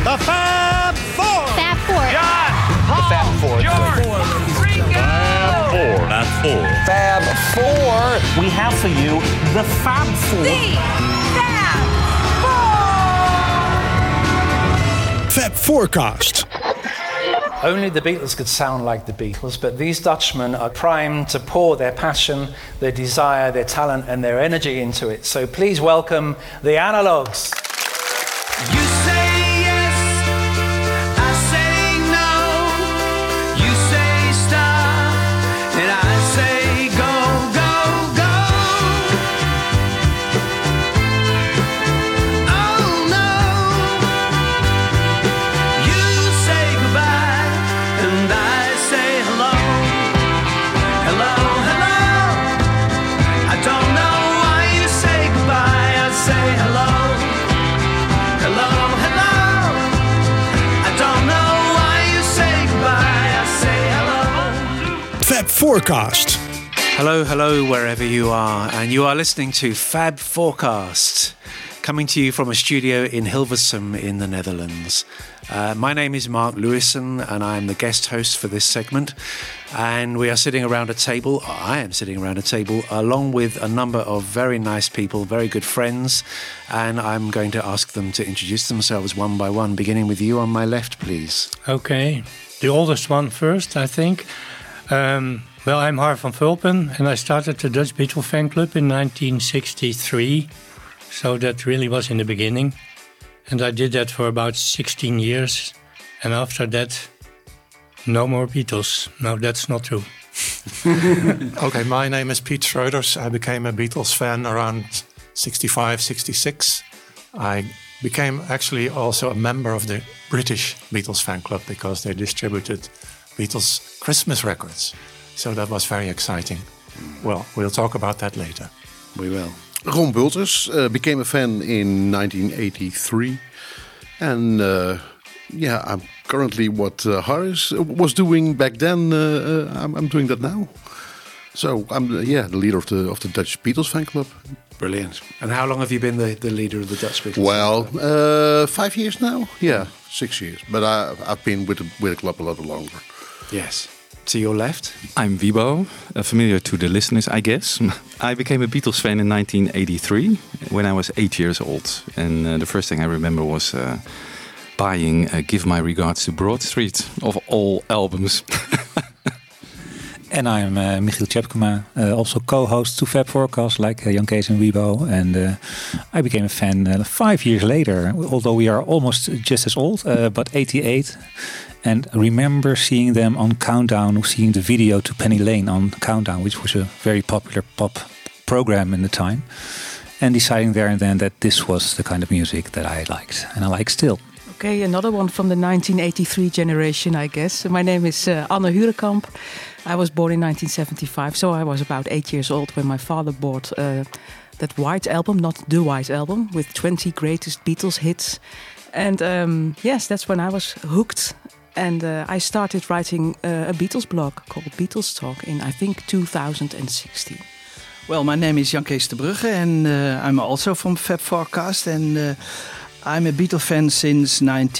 The Fab Four. Fab Four. John, Paul, the Fab Four. George, Ringo. Fab Four. Fab Four. We have for you the Fab Four. The Fab Four. Fab Forecast. Only the Beatles could sound like the Beatles, but these Dutchmen are primed to pour their passion, their desire, their talent, and their energy into it. So please welcome the Analogues. You say yes, I say no. You say stop, and I say go, go, go. Oh no. You say goodbye, and I say hello. Hello, hello. I don't know why you say goodbye, I say hello. Hello, hello. I don't know why you say goodbye. I say hello. Fab Forecast. Hello, hello, wherever you are, and you are listening to Fab Forecast, coming to you from a studio in Hilversum in the Netherlands. My name is Mark Lewison, and I'm the guest host for this segment. And we are sitting around a table, I am sitting around a table, along with a number of very nice people, very good friends. And I'm going to ask them to introduce themselves one by one, beginning with you on my left, please. Okay, the oldest one first, I think. Well, I'm Harv van Vulpen, and I started the Dutch Beatles fan club in 1963. So that really was in the beginning. And I did that for about 16 years. And after that, no more Beatles. No, that's not true. Okay, my name is Piet Schroeders. I became a Beatles fan around 65, 66. I became actually also a member of the British Beatles fan club because they distributed Beatles Christmas records. So that was very exciting. Well, we'll talk about that later. We will. Ron Bulters became a fan in 1983. And I'm currently what Harris was doing back then. I'm doing that now. So I'm the leader of the Dutch Beatles fan club. Brilliant. And how long have you been the leader of the Dutch Beatles? Well, 5 years now. Yeah, 6 years. But I've been with the club a lot longer. Yes. To your left? I'm Wibo, familiar to the listeners, I guess. I became a Beatles fan in 1983 when I was 8 years old. And the first thing I remember was buying Give My Regards to Broad Street, of all albums. And I'm Michiel Tjepkema, also co-host to Fab Forecast, like Jan Kees and Wibo. And I became a fan 5 years later, although we are almost just as old, but 88. And remember seeing them on Countdown, seeing the video to Penny Lane on Countdown, which was a very popular pop program in the time. And deciding there and then that this was the kind of music that I liked, and I like still. Okay, another one from the 1983 generation, I guess. My name is Anne Hurekamp. I was born in 1975, so I was about 8 years old when my father bought that White Album, not the White Album, with 20 greatest Beatles hits. And yes, that's when I was hooked. And I started writing a Beatles blog called Beatles Talk in, I think, 2016. Well, my name is Jan Kees de Brugge, and I'm also from Fab Forecast. And I'm a Beatle fan since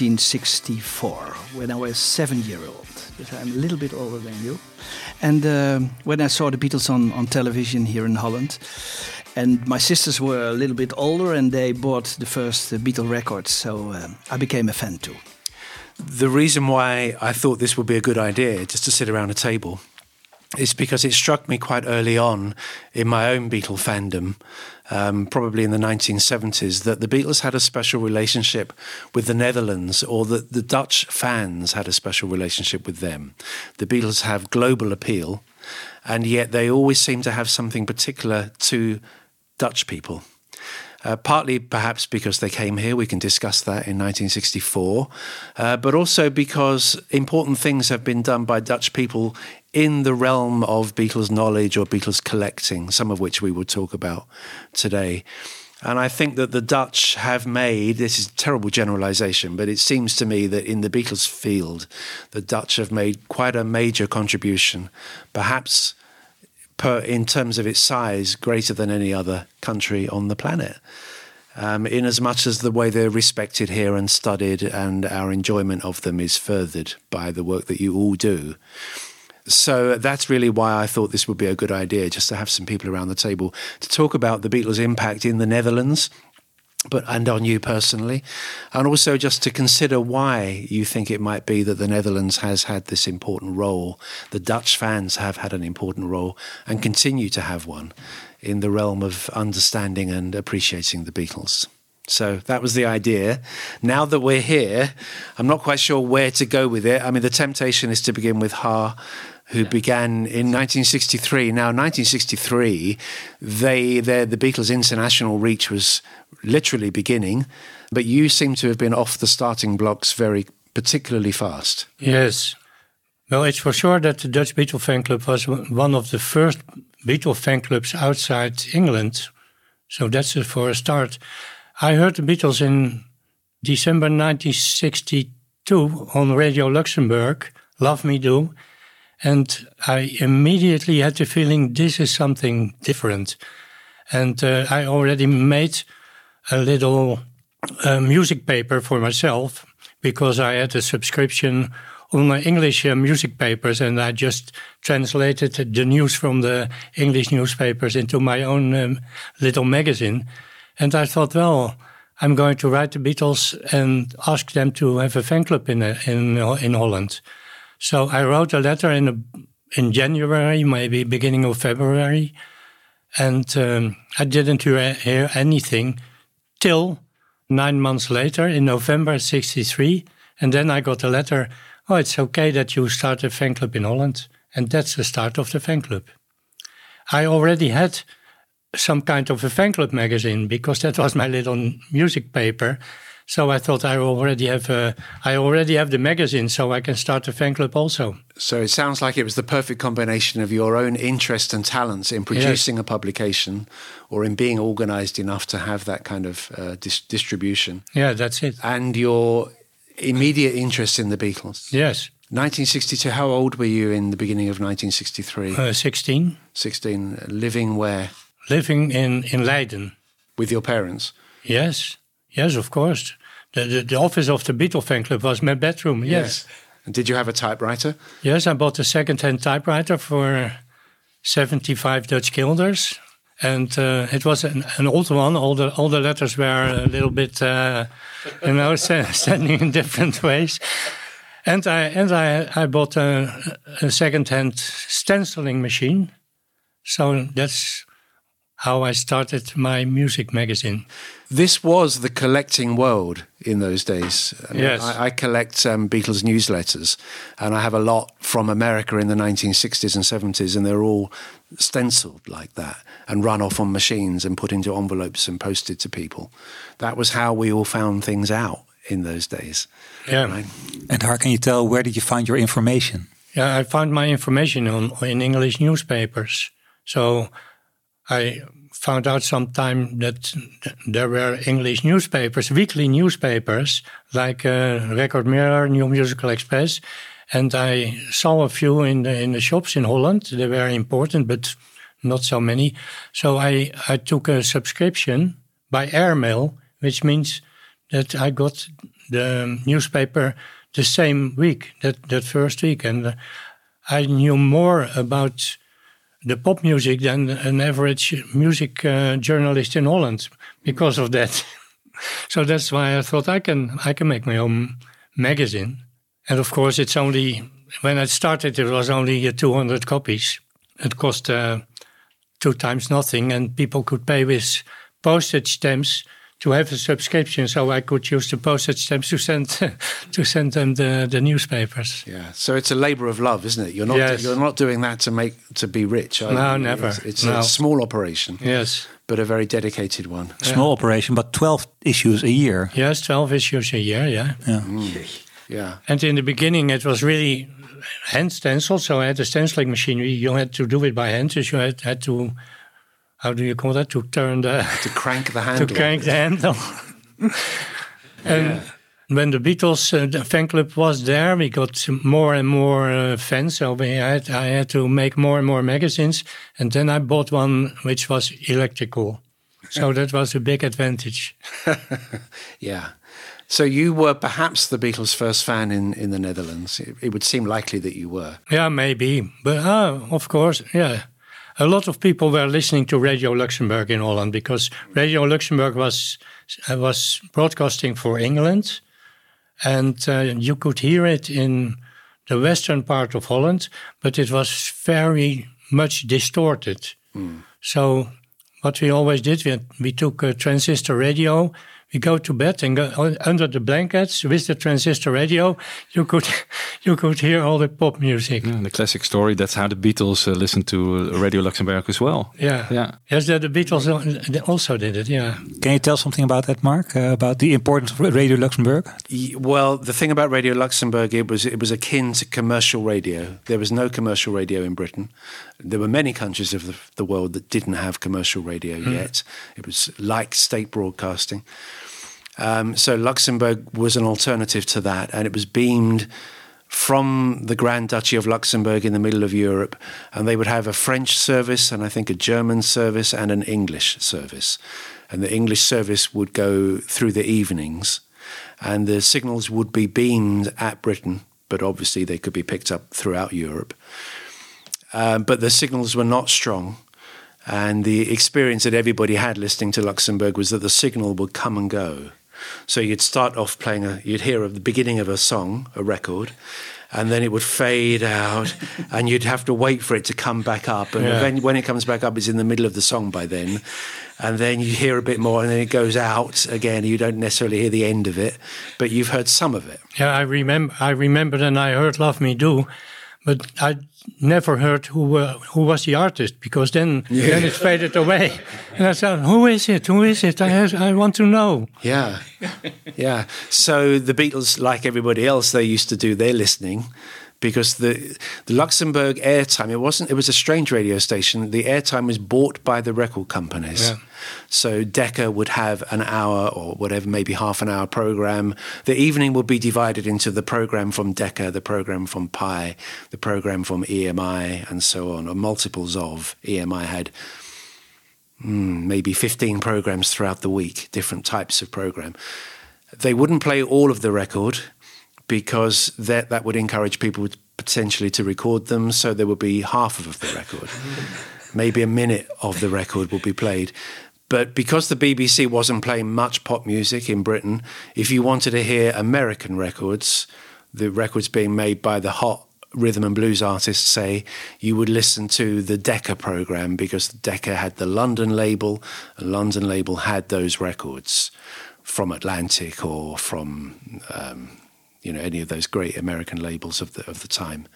1964, when I was 7-year-old. So I'm a little bit older than you. And when I saw the Beatles on television here in Holland, and my sisters were a little bit older, and they bought the first Beatle records, so I became a fan too. The reason why I thought this would be a good idea, just to sit around a table, is because it struck me quite early on in my own Beatle fandom, probably in the 1970s, that the Beatles had a special relationship with the Netherlands, or that the Dutch fans had a special relationship with them. The Beatles have global appeal, and yet they always seem to have something particular to Dutch people. Partly perhaps because they came here, we can discuss that, in 1964, but also because important things have been done by Dutch people in the realm of Beatles knowledge or Beatles collecting, some of which we will talk about today. And I think that the Dutch have made, this is a terrible generalization, but it seems to me that in the Beatles field, the Dutch have made quite a major contribution, perhaps in terms of its size, greater than any other country on the planet. in as much as the way they're respected here and studied, and our enjoyment of them is furthered by the work that you all do. So that's really why I thought this would be a good idea, just to have some people around the table to talk about the Beatles' impact in the Netherlands, and on you personally, and also just to consider why you think it might be that the Netherlands has had this important role, the Dutch fans have had an important role and continue to have one in the realm of understanding and appreciating the Beatles. So that was the idea. Now that we're here, I'm not quite sure where to go with it. I mean, the temptation is to begin with Ha, who began in 1963. Now, 1963, the Beatles' international reach was literally beginning, but you seem to have been off the starting blocks very particularly fast. Yes. Well, it's for sure that the Dutch Beatle fan club was one of the first Beatle fan clubs outside England. So that's for a start. I heard the Beatles in December 1962 on Radio Luxembourg, Love Me Do, and I immediately had the feeling this is something different. And I already made a little music paper for myself because I had a subscription on my English music papers, and I just translated the news from the English newspapers into my own little magazine. And I thought, well, I'm going to write the Beatles and ask them to have a fan club in Holland. So I wrote a letter in January, maybe beginning of February, and I didn't hear anything till 9 months later, in November '63, and then I got a letter, oh, it's okay that you start a fan club in Holland, and that's the start of the fan club. I already had some kind of a fan club magazine because that was my little music paper. So I thought I already have the magazine, so I can start a fan club also. So it sounds like it was the perfect combination of your own interest and talents in producing a publication, or in being organized enough to have that kind of distribution. Yeah, that's it. And your immediate interest in the Beatles. Yes. 1962, how old were you in the beginning of 1963? 16. 16. Living where? Living in Leiden. With your parents? Yes. Yes, of course. The office of the Beatle fan club was my bedroom, yes. And did you have a typewriter? Yes, I bought a second-hand typewriter for 75 Dutch guilders. And it was an old one. All the letters were a little bit, standing in different ways. And I bought a second-hand stenciling machine. So that's how I started my music magazine. This was the collecting world in those days. I mean, yes. I collect Beatles newsletters, and I have a lot from America in the 1960s and 70s, and they're all stenciled like that and run off on machines and put into envelopes and posted to people. That was how we all found things out in those days. Yeah. Right? And how can you tell, where did you find your information? Yeah, I found my information in English newspapers. So I found out sometime that there were English newspapers, weekly newspapers, like Record Mirror, New Musical Express, and I saw a few in the shops in Holland. They were important, but not so many. So I took a subscription by airmail, which means that I got the newspaper the same week, that first week, and I knew more about the pop music than an average music journalist in Holland because of that. So that's why I thought I can make my own magazine. And of course, it's only, when I started, it was only 200 copies. It cost 2 times nothing, and people could pay with postage stamps to have a subscription, so I could use the postage stamps to send them the newspapers. Yeah, so it's a labour of love, isn't it? You're not doing that to be rich. No, never. It's a small operation. Yes, but a very dedicated one. Small operation, but 12 issues a year. Yes, 12 issues a year. Yeah. Yeah. And in the beginning, it was really hand stenciled. So I had a stenciling machine. You had to do it by hand. So you had to. How do you call that? To crank the handle. To crank the handle. And when the Beatles fan club was there, we got more and more fans. So I had to make more and more magazines. And then I bought one which was electrical. So that was a big advantage. Yeah. So you were perhaps the Beatles' first fan in the Netherlands. It would seem likely that you were. Yeah, maybe. But of course, yeah. A lot of people were listening to Radio Luxembourg in Holland because Radio Luxembourg was broadcasting for England. And you could hear it in the western part of Holland, but it was very much distorted. So what we always did, we took a transistor radio. We go to bed and go under the blankets with the transistor radio. You could hear all the pop music. Yeah, the classic story. That's how the Beatles listened to Radio Luxembourg as well. Yeah. Yes, the Beatles also did it. Yeah. Can you tell something about that, Mark? About the importance of Radio Luxembourg? Well, the thing about Radio Luxembourg, it was akin to commercial radio. There was no commercial radio in Britain. There were many countries of the world that didn't have commercial radio yet. It was like state broadcasting. So Luxembourg was an alternative to that, and it was beamed from the Grand Duchy of Luxembourg in the middle of Europe, and they would have a French service and I think a German service and an English service. And the English service would go through the evenings, and the signals would be beamed at Britain, but obviously they could be picked up throughout Europe. But the signals were not strong. And the experience that everybody had listening to Luxembourg was that the signal would come and go. So you'd start off playing, you'd hear the beginning of a song, a record, and then it would fade out, and you'd have to wait for it to come back up. And when it comes back up, it's in the middle of the song by then. And then you hear a bit more, and then it goes out again. You don't necessarily hear the end of it, but you've heard some of it. Yeah, I remember, and I heard "Love Me Do," but I never heard who was the artist, because then it faded away. And I said, who is it? Who is it? I want to know. Yeah. Yeah. So the Beatles, like everybody else, they used to do their listening, because the Luxembourg airtime, it was a strange radio station. The airtime was bought by the record companies. Yeah. So Decca would have an hour or whatever, maybe half an hour program. The evening would be divided into the program from Decca, the program from Pi, the program from EMI, and so on, or multiples of. EMI had maybe 15 programs throughout the week, different types of program. They wouldn't play all of the record, because that would encourage people potentially to record them, so there would be half of the record. Maybe a minute of the record would be played. But because the BBC wasn't playing much pop music in Britain, if you wanted to hear American records, the records being made by the hot rhythm and blues artists, say, you would listen to the Decca program, because Decca had the London label, and London label had those records from Atlantic or from any of those great American labels of the time.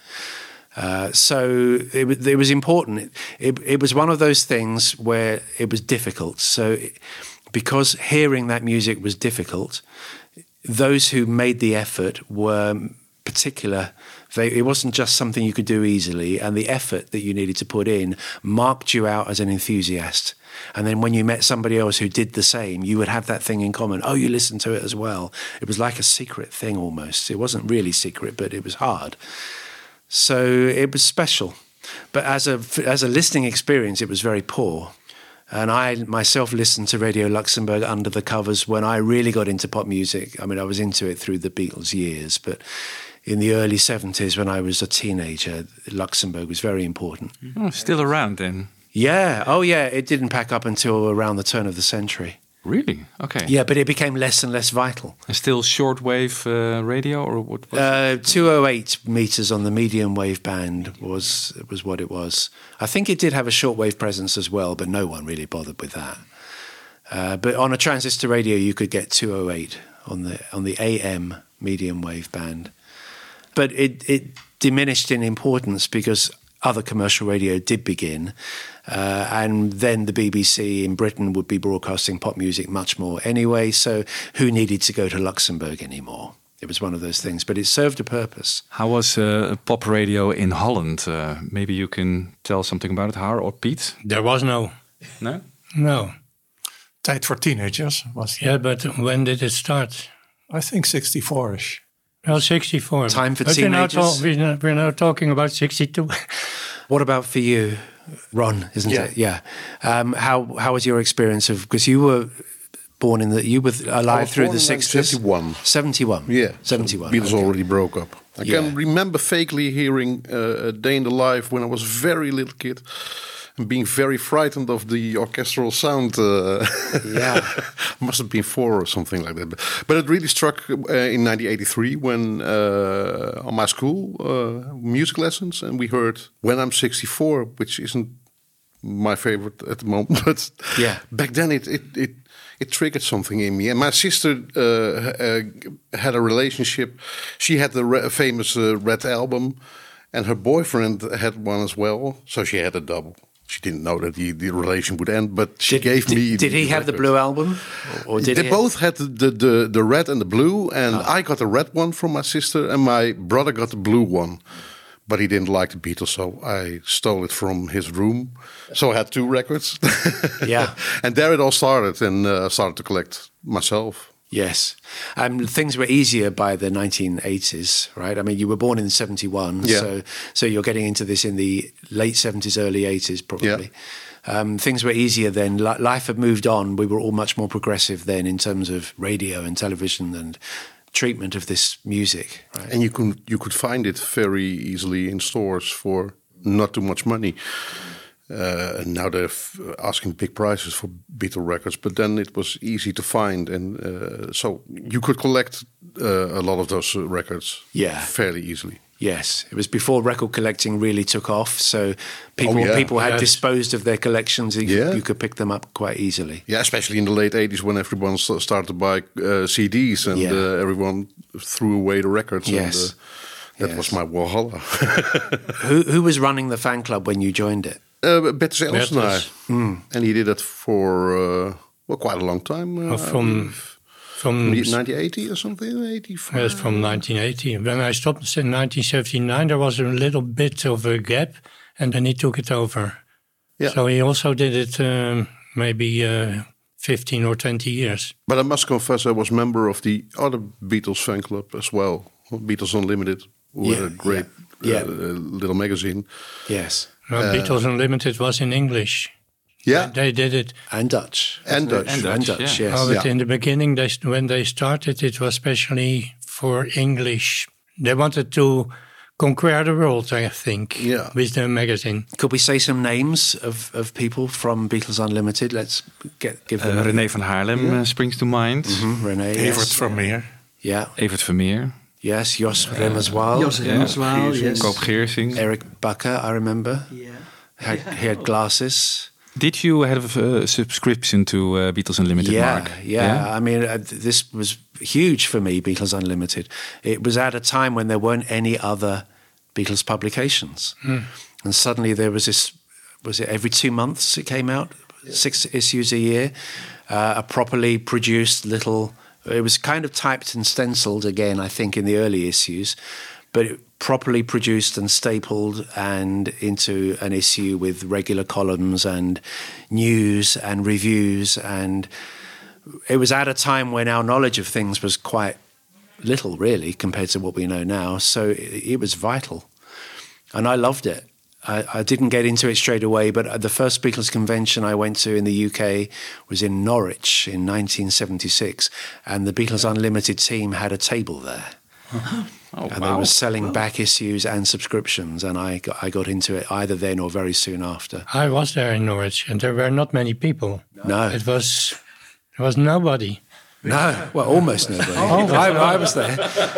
So it was important. It was one of those things where it was difficult. So because hearing that music was difficult, those who made the effort were particular. It wasn't just something you could do easily, and the effort that you needed to put in marked you out as an enthusiast. And then when you met somebody else who did the same, you would have that thing in common. Oh, you listened to it as well. It was like a secret thing almost. It wasn't really secret, but it was hard. So it was special. But as a listening experience, it was very poor. And I myself listened to Radio Luxembourg under the covers when I really got into pop music. I mean, I was into it through the Beatles years, but in the early 70s when I was a teenager, Luxembourg was very important. Oh, still around then? Yeah. Oh, yeah. It didn't pack up until around the turn of the century. Really? Okay. Yeah, but it became less and less vital. And still shortwave radio, or what was it? 208 meters on the medium wave band was what it was. I think it did have a shortwave presence as well, but no one really bothered with that. But on a transistor radio, you could get 208 on the AM medium wave band. But it diminished in importance because other commercial radio did begin, and then the BBC in Britain would be broadcasting pop music much more anyway, so who needed to go to Luxembourg anymore? It was one of those things, but it served a purpose. How was pop radio in Holland? Maybe you can tell something about it, Har or Piet? There was no. No? No. Tijd for Teenagers was. Yeah, but when did it start? I think 64-ish. Well, 64. Time for Teenagers? We're now talking about 62. What about for you? Ron, isn't Yeah. it? Yeah. How was your experience of, because you were born in you were alive through the 60s? 71. 71. Yeah. 71. Beatles okay. already broke up. I can remember vaguely hearing A Day in the Life when I was a very little kid. And being very frightened of the orchestral sound. Yeah. Must have been 4 or something like that. But it really struck in 1983 when on my school music lessons, and we heard When I'm 64, which isn't my favorite at the moment. But back then it triggered something in me. And my sister had a relationship. She had the famous Red Album, and her boyfriend had one as well. So she had a double. She didn't know that the relation would end, but she gave me. Did he have the blue album, or did they he both had the red and the blue? And I got the red one from my sister, and my brother got the blue one. But he didn't like the Beatles, so I stole it from his room. So I had 2 records. Yeah, and there it all started, and started to collect myself. Yes. Things were easier by the 1980s, right? I mean, you were born in 71, so you're getting into this in the late 70s, early 80s, probably. Yeah. Things were easier then. Life had moved on. We were all much more progressive then in terms of radio and television and treatment of this music. Right? And you could find it very easily in stores for not too much money. And now they're asking big prices for Beatle records, but then it was easy to find, and so you could collect a lot of those records fairly easily. Yes, it was before record collecting really took off, so people had disposed of their collections. You could pick them up quite easily. Yeah, especially in the late 80s when everyone started to buy CDs, and everyone threw away the records. Yes. And, that was my Walhalla. Who was running the fan club when you joined it? Bertus Elsenaar. And he did it for quite a long time. From 1980 or something, 85? Yes, from 1980. When I stopped in 1979, there was a little bit of a gap, and then he took it over. Yeah. So he also did it maybe 15 or 20 years. But I must confess, I was member of the other Beatles fan club as well, Beatles Unlimited, who were a great little magazine. Yes. Beatles Unlimited was in English. Yeah, they did it, and Dutch, and Dutch. Yes. But in the beginning, when they started, it was especially for English. They wanted to conquer the world, I think, with the magazine. Could we say some names of people from Beatles Unlimited? Let's give them. René van Haarlem springs to mind. René, Evert Vermeer. Yeah, Evert Vermeer. Yes, Jos Remmerswaal. Jos Remmerswaal, yes. Koop Geersing. Eric Bakker, I remember. Yeah. He had glasses. Did you have a subscription to Beatles Unlimited, Mark? Yeah. I mean, this was huge for me, Beatles Unlimited. It was at a time when there weren't any other Beatles publications. And suddenly there was this, was it every 2 months it came out? 6 issues a year. A properly produced little... It was kind of typed and stenciled again, I think, in the early issues, but properly produced and stapled and into an issue with regular columns and news and reviews. And it was at a time when our knowledge of things was quite little, really, compared to what we know now. So it was vital. And I loved it. I didn't get into it straight away, but the first Beatles convention I went to in the UK was in Norwich in 1976, and the Beatles Unlimited team had a table there. They were selling back issues and subscriptions, and I got into it either then or very soon after. I was there in Norwich, and there were not many people. No. There was nobody. No, well, almost nobody. I was there.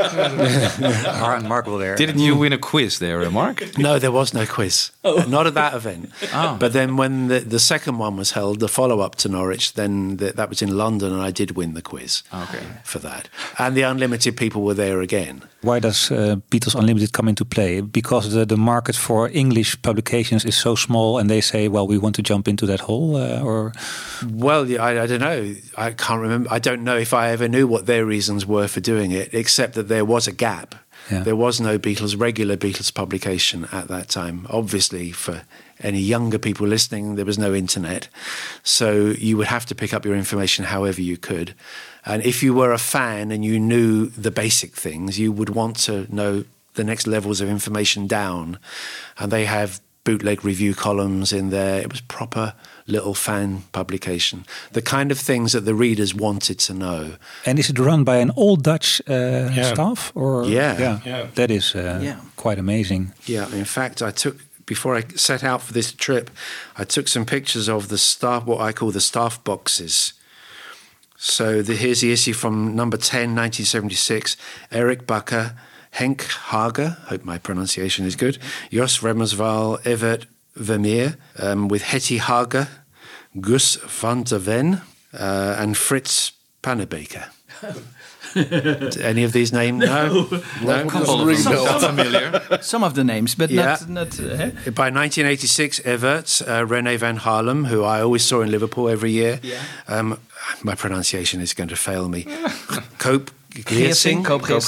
Mark was there. Didn't you win a quiz there, Mark? No, there was no quiz. Not at that event. But then when the second one was held, the follow-up to Norwich, then that was in London, and I did win the quiz for that. And the Unlimited people were there again. Why does Beatles Unlimited come into play? Because the market for English publications is so small, and they say, well, we want to jump into that hole, or... Well, I don't know. I can't remember. I don't know if I ever knew what their reasons were for doing it, except that there was a gap. Yeah. There was no regular Beatles publication at that time. Obviously, for any younger people listening, there was no internet. So you would have to pick up your information however you could. And if you were a fan and you knew the basic things, you would want to know the next levels of information down. And they have bootleg review columns in there. It was proper little fan publication. The kind of things that the readers wanted to know. And is it run by an old Dutch staff? Or Yeah. That is quite amazing. Yeah, in fact, before I set out for this trip, I took some pictures of the staff, what I call the staff boxes. So here's the issue from number 10, 1976. Erik Bakker, Henk Hager, hope my pronunciation is good, Jos Remmerswaal, Evert Vermeer, with Hetty Hager, Gus van der Ven, and Frits Pannebeker. Any of these names? No? Familiar. Some of the names, but not By 1986, Evert, René van Harlem, who I always saw in Liverpool every year. Yeah. My pronunciation is going to fail me. Koop Geersing.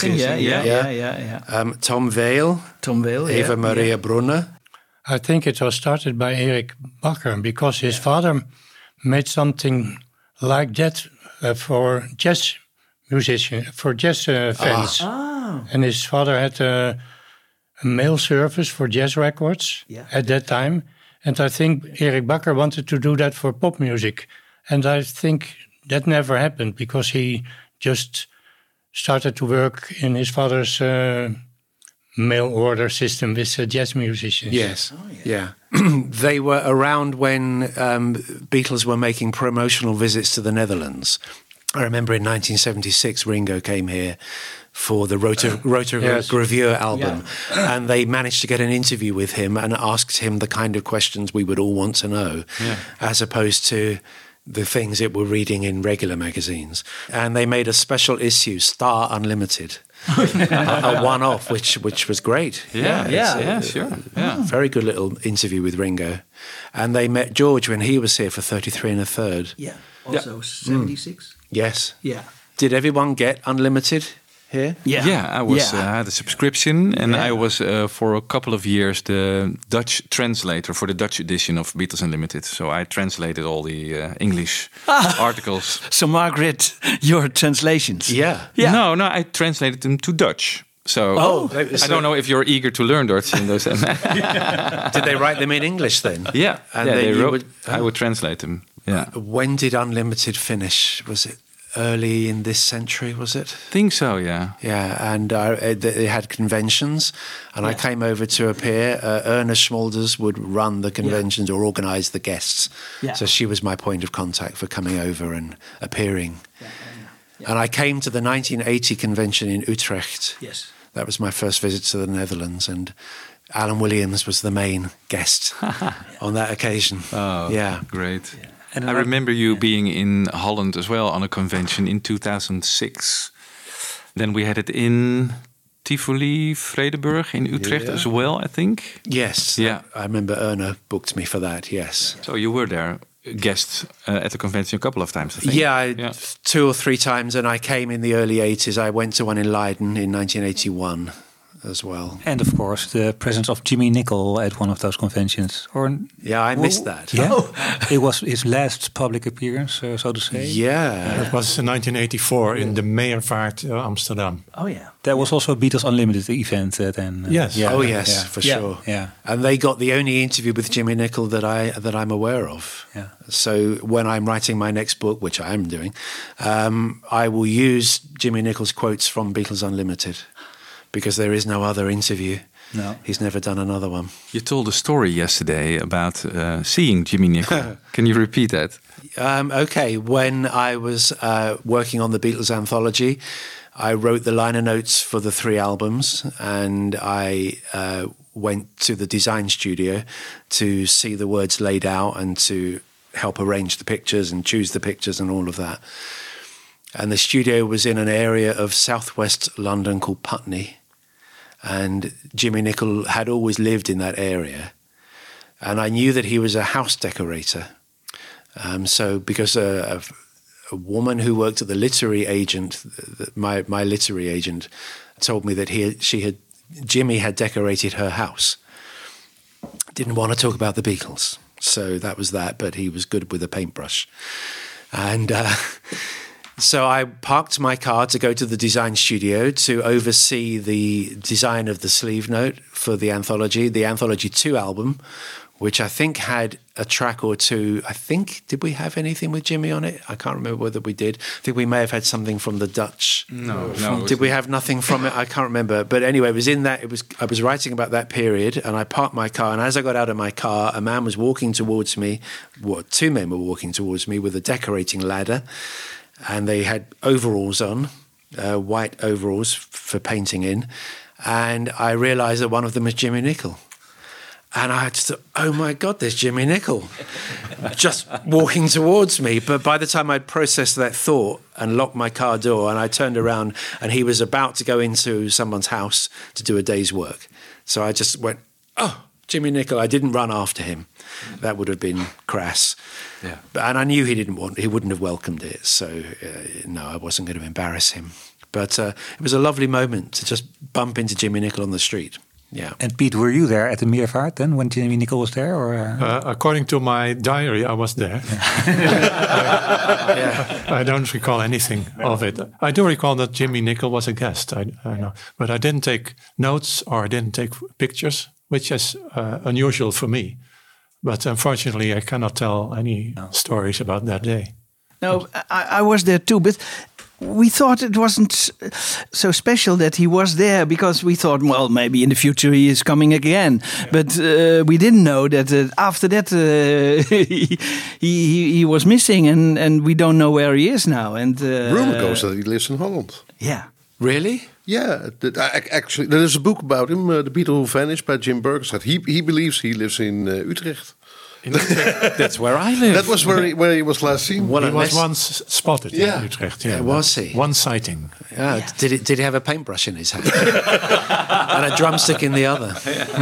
Yeah. Tom Vale. Eva Maria Brunner. I think it was started by Erik Bakker because his father made something like that for jazz musicians, for jazz fans. And his father had a mail service for jazz records at that time. And I think Erik Bakker wanted to do that for pop music. And I think that never happened because he just started to work in his father's mail order system with jazz musicians. Yes, They were around when Beatles were making promotional visits to the Netherlands. I remember in 1976, Ringo came here for the Rotogravure album, and they managed to get an interview with him and asked him the kind of questions we would all want to know, as opposed to the things that we're reading in regular magazines. And they made a special issue, Star Unlimited, a one-off, which was great. Sure. Very good little interview with Ringo. And they met George when he was here for 33 1/3. Yeah, also 76. Yes. Yeah. Did everyone get Unlimited here? I had a subscription, and I was for a couple of years the Dutch translator for the Dutch edition of Beatles Unlimited. So I translated all the English articles. So Margaret, your translations? Yeah. No, I translated them to Dutch. So I don't know if you're eager to learn Dutch in those. Did they write them in English then? Yeah, and then they wrote. I would translate them. Yeah. When did Unlimited finish? Was it early in this century, was it? I think so, yeah. Yeah, and they had conventions, and I came over to appear. Erna Schmolders would run the conventions or organise the guests. Yeah. So she was my point of contact for coming over and appearing. Yeah. And I came to the 1980 convention in Utrecht. Yes. That was my first visit to the Netherlands, and Alan Williams was the main guest on that occasion. Oh, yeah. Great. Yeah. And I remember you being in Holland as well on a convention in 2006. Then we had it in Tivoli, Vredenburg in Utrecht as well, I think. Yes. Yeah. I remember Erna booked me for that, yes. So you were there, guest at the convention a couple of times, I think. Yeah, 2 or 3 times, and I came in the early 80s. I went to one in Leiden in 1981. As well. And of course the presence of Jimmy Nicol at one of those conventions. I missed that. Yeah, it was his last public appearance, so to say. Yeah, it was in 1984 in the Meervaart, Amsterdam. Oh yeah, there was also a Beatles Unlimited event then. Yes. For sure. Yeah, and they got the only interview with Jimmy Nicol that I'm aware of. Yeah. So when I'm writing my next book, which I am doing, I will use Jimmy Nicol's quotes from Beatles Unlimited. Because there is no other interview. No. He's never done another one. You told a story yesterday about seeing Jimmy Nicol. Can you repeat that? Okay. When I was working on the Beatles anthology, I wrote the liner notes for the 3 albums, and I went to the design studio to see the words laid out and to help arrange the pictures and choose the pictures and all of that. And the studio was in an area of southwest London called Putney. And Jimmy Nicol had always lived in that area. And I knew that he was a house decorator. So because a woman who worked at the literary agent, my literary agent, told me that Jimmy had decorated her house. Didn't want to talk about the Beatles. So that was that, but he was good with a paintbrush. And So I parked my car to go to the design studio to oversee the design of the sleeve note for the Anthology 2 album, which I think had a track or two. I think, did we have anything with Jimmy on it? I can't remember whether we did. I think we may have had something from the Dutch. No. Did we have nothing from it? I can't remember. But anyway, it was in that. I was writing about that period, and I parked my car. And as I got out of my car, a man was walking towards me. Well, two men were walking towards me with a decorating ladder, and they had overalls on, white overalls for painting in. And I realised that one of them was Jimmy Nicol. And I just thought, oh my God, there's Jimmy Nicol just walking towards me. But by the time I'd processed that thought and locked my car door, and I turned around and he was about to go into someone's house to do a day's work. So I just went, oh, Jimmy Nicol. I didn't run after him. That would have been crass. Yeah. And I knew he wouldn't have welcomed it. So no, I wasn't going to embarrass him. But it was a lovely moment to just bump into Jimmy Nicol on the street. Yeah. And Pete, were you there at the Meervaart then when Jimmy Nicol was there? Or according to my diary, I was there. I don't recall anything of it. I do recall that Jimmy Nicol was a guest. I know, but I didn't take notes or I didn't take pictures, which is unusual for me. But unfortunately, I cannot tell any stories about that day. No, I was there too, but we thought it wasn't so special that he was there because we thought, well, maybe in the future he is coming again. Yeah. But we didn't know that after that he was missing, and we don't know where he is now. And rumor goes that he lives in Holland. Yeah. Really? Yeah. Actually, there is a book about him, The Beatle Who Vanished, by Jim Burgess. He believes he lives in Utrecht. That's where I live. That was where he was last seen. He was once spotted in Utrecht. Yeah, was he? One sighting. Yeah. Did he have a paintbrush in his hand and a drumstick in the other?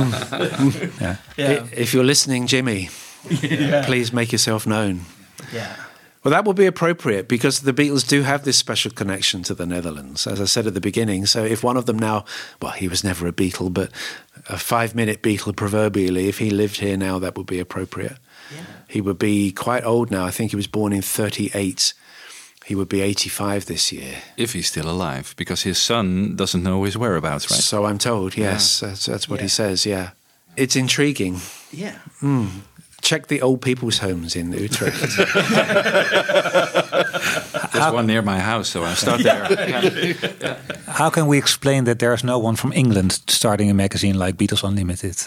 If you're listening, Jimmy, please make yourself known. Yeah. Well, that will be appropriate because the Beatles do have this special connection to the Netherlands, as I said at the beginning. So if one of them now, well, he was never a Beatle, but a 5-minute Beatle proverbially, if he lived here now, that would be appropriate. Yeah. He would be quite old now. I think he was born in 38. He would be 85 this year. If he's still alive, because his son doesn't know his whereabouts, right? So I'm told, yes. Yeah. That's what he says, yeah. It's intriguing. Yeah. Check the old people's homes in Utrecht. There's one near my house, so I start there. How can we explain that there's no one from England starting a magazine like Beatles Unlimited?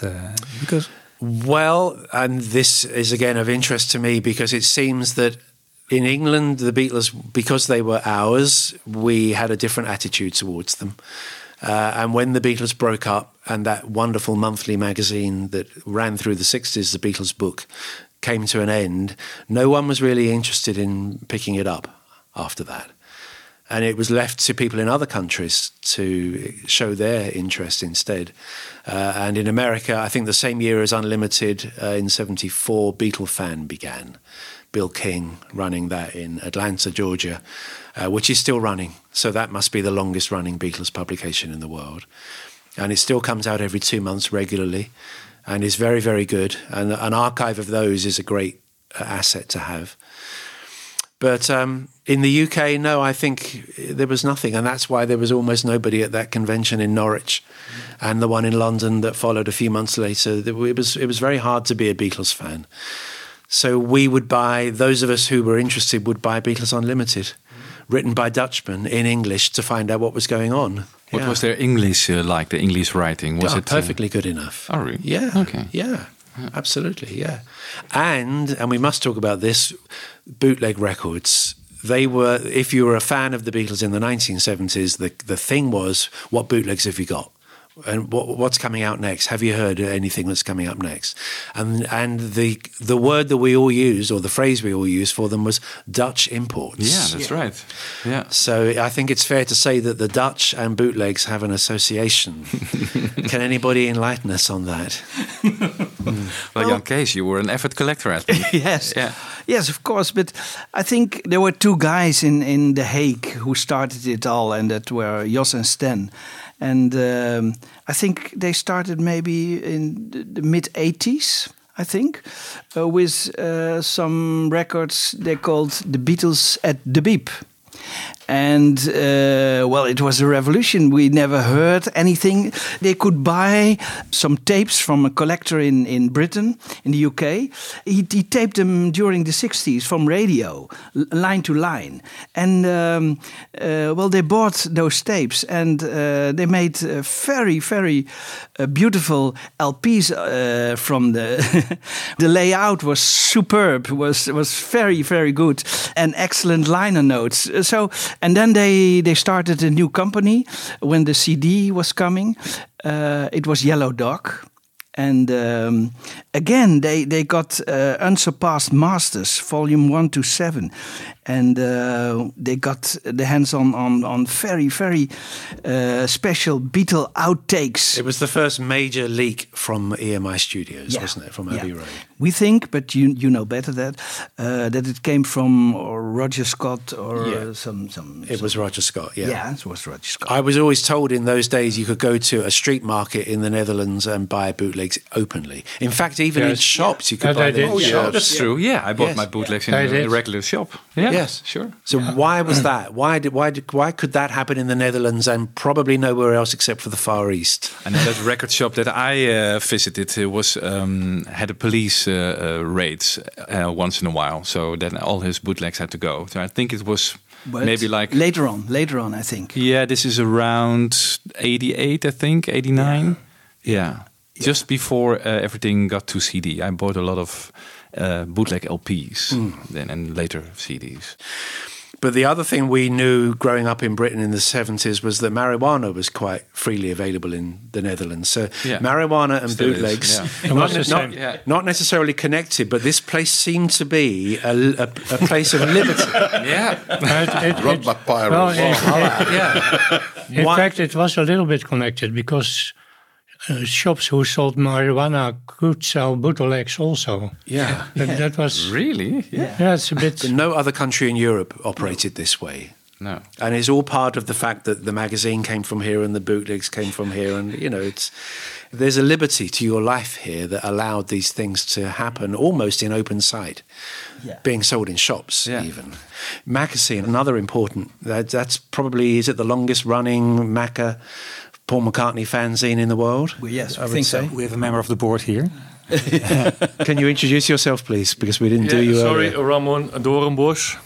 Well, and this is again of interest to me because it seems that in England, the Beatles, because they were ours, we had a different attitude towards them. And when the Beatles broke up and that wonderful monthly magazine that ran through the 60s, the Beatles book, came to an end, no one was really interested in picking it up after that. And it was left to people in other countries to show their interest instead. And in America, I think the same year as Unlimited, in 74, Beatle Fan began. Bill King running that in Atlanta, Georgia, which is still running. So that must be the longest running Beatles publication in the world. And it still comes out every 2 months regularly and is very, very good. And an archive of those is a great asset to have. But in the UK, no, I think there was nothing. And that's why there was almost nobody at that convention in Norwich and the one in London that followed a few months later. It was very hard to be a Beatles fan. So we would buy, those of us who were interested would buy Beatles Unlimited, written by Dutchmen in English to find out what was going on. What was their English like, the English writing? Was it perfectly good enough? Oh, really? Yeah. Okay. Yeah, absolutely, yeah. And we must talk about this, bootleg records. They were, if you were a fan of the Beatles in the 1970s, the thing was, what bootlegs have you got? And what's coming out next? Have you heard anything that's coming up next? And the word that we all use, or the phrase we all use for them, was Dutch imports. Yeah, that's right. Yeah. So I think it's fair to say that the Dutch and bootlegs have an association. Can anybody enlighten us on that? Well, Jan Kees, you were an avid collector, I think. Yes. Yeah. Yes, of course. But I think there were two guys in The Hague who started it all, and that were Jos and Sten. And I think they started maybe in the mid-80s, I think, with some records they called The Beatles at the Beep. And well, it was a revolution. We never heard anything. They could buy some tapes from a collector in Britain, in the UK. He taped them during the 60s from radio, line to line. And well, they bought those tapes and they made very, very beautiful LPs from the the layout was superb, was very, very good, and excellent liner notes. So, and then they started a new company when the CD was coming. It was Yellow Dog. And again, they got Unsurpassed Masters, volume 1 to 7. And they got the hands on very, very special Beatle outtakes. It was the first major leak from EMI Studios, Yeah. wasn't it, from Abbey Road? We think, but you know better that it came from Roger Scott or some. It was Roger Scott, yeah. Yeah, it was Roger Scott. I was always told in those days you could go to a street market in the Netherlands and buy bootlegs openly. In fact, even in shops you could buy them in shops. That's true. Yeah, I bought my bootlegs in a regular shop. Yeah, yes, sure. So why was that? Why could that happen in the Netherlands and probably nowhere else except for the Far East? And that record shop that I visited was had a police raids once in a while, so then all his bootlegs had to go. So I think it was maybe like later on, I think. Yeah, this is around 88, I think, 89. Yeah. Just before everything got to CD, I bought a lot of bootleg LPs then and later CDs. But the other thing we knew growing up in Britain in the 70s was that marijuana was quite freely available in the Netherlands. So marijuana and Still bootlegs, is, not necessarily connected, but this place seemed to be a place of liberty. Run by pirates. In fact, it was a little bit connected because shops who sold marijuana could sell bootlegs also. Yeah. That was... Really? Yeah, it's a bit... No other country in Europe operated this way. No. And it's all part of the fact that the magazine came from here and the bootlegs came from here. And, you know, there's a liberty to your life here that allowed these things to happen almost in open sight, being sold in shops even. Magazine, another important, that's probably, is it the longest running Macca Paul McCartney fanzine in the world? Well, yes, I think say. so. We have a member of the board here. Can you introduce yourself, please? Because we didn't do you sorry, earlier. Ramon Doornbos.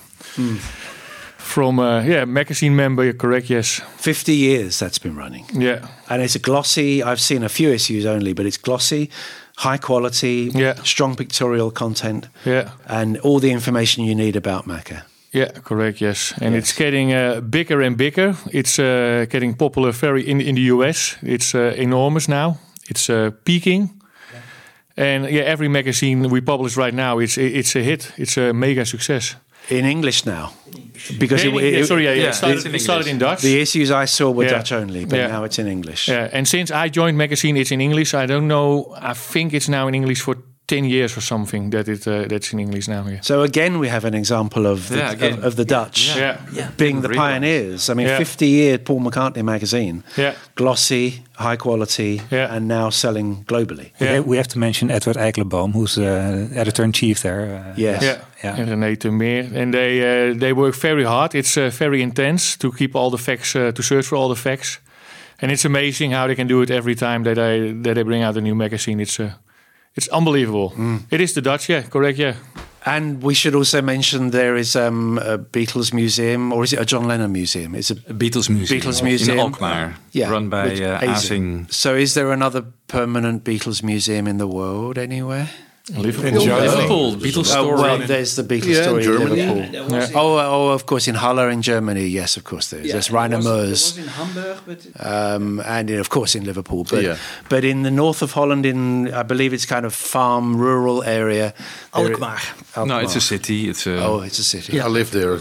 From, magazine member, you're correct, yes. 50 years that's been running. Yeah. And it's a glossy, I've seen a few issues only, but it's glossy, high quality, strong pictorial content, and all the information you need about Macca. Yeah, correct, yes. And it's getting bigger and bigger. It's getting popular in the US. It's enormous now. It's peaking. And every magazine we publish right now, it's a hit. It's a mega success. In English now? Because it started in Dutch. The issues I saw were Dutch only, but now it's in English. Yeah, and since I joined magazine, it's in English. I don't know. I think it's now in English for 10 years or something that's in English now. Yeah. So again, we have an example of the Dutch being the pioneers. I mean, 50-year Paul McCartney magazine, glossy, high quality, and now selling globally. We have to mention Edward Eikelenboom, who's editor-in-chief there. And René Meer. And they work very hard. It's very intense to keep all the facts, to search for all the facts. And it's amazing how they can do it every time that they bring out a new magazine. It's unbelievable. It is the Dutch, correct, And we should also mention there is a Beatles museum, or is it a John Lennon museum? It's a Beatles museum in Alkmaar, run by Azing. So is there another permanent Beatles museum in the world anywhere? Liverpool. Beatles store. Well, there's the Beatles store in Germany. Liverpool. Oh, of course, in Halle in Germany. Yes, of course there is. There's Rainer Meurs. It was in Hamburg, but... and of course in Liverpool. But in the north of Holland, I believe it's kind of farm, rural area. Alkmaar. No, it's a city. It's a city. I live there.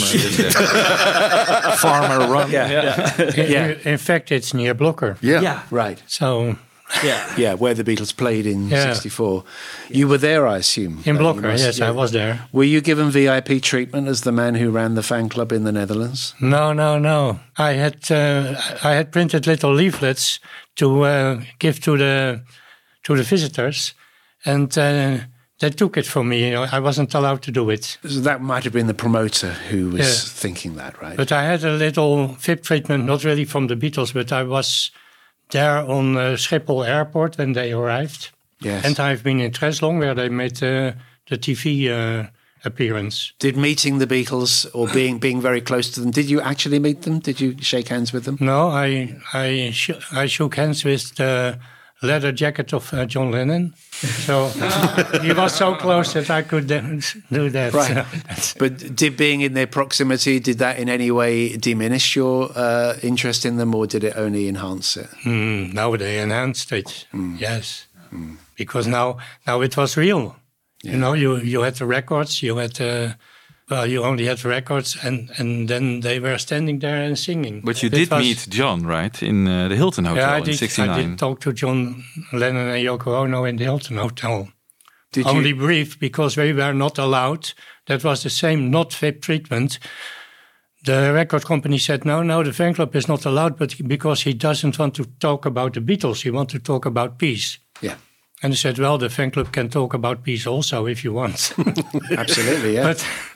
Farmer run. In fact, it's near Blokker. Yeah, right. So... where the Beatles played in '64. You were there, I assume. In Blokker, yes, I was there. Were you given VIP treatment as the man who ran the fan club in the Netherlands? No. I had printed little leaflets to give to the visitors, and they took it from me. I wasn't allowed to do it. So that might have been the promoter who was thinking that, right? But I had a little VIP treatment, not really from the Beatles, but I was there on Schiphol Airport when they arrived. Yes. And I've been in Treslong where they made the TV appearance. Did meeting the Beatles or being very close to them, did you actually meet them? Did you shake hands with them? No, I shook hands with the leather jacket of John Lennon. So he was so close that I could do that. Right. But did being in their proximity, did that in any way diminish your interest in them, or did it only enhance it? No, they enhanced it. Yes. Because now it was real. Yeah. You had the records, you only had records, and then they were standing there and singing. But you did meet John, right, in the Hilton Hotel in '69? I did talk to John Lennon and Yoko Ono in the Hilton Hotel. Only brief, because we were not allowed. That was the same, not VIP treatment. The record company said, no, the fan club is not allowed, but because he doesn't want to talk about the Beatles, he wants to talk about peace. Yeah. And they said, well, the fan club can talk about peace also if you want. Absolutely, yeah.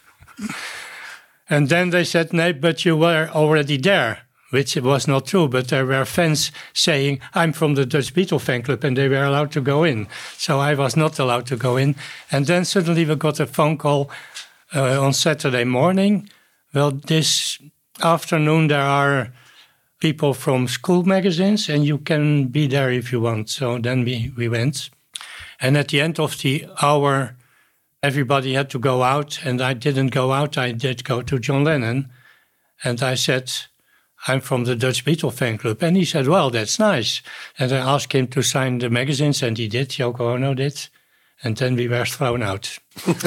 And then they said, no, but you were already there, which was not true. But there were fans saying, I'm from the Dutch Beatle fan club, and they were allowed to go in. So I was not allowed to go in. And then suddenly we got a phone call on Saturday morning. Well, this afternoon there are people from school magazines, and you can be there if you want. So then we went. And at the end of the hour, everybody had to go out, and I didn't go out. I did go to John Lennon, and I said, I'm from the Dutch Beatle fan club. And he said, well, that's nice. And I asked him to sign the magazines, and he did. Yoko Ono did. And then we were thrown out.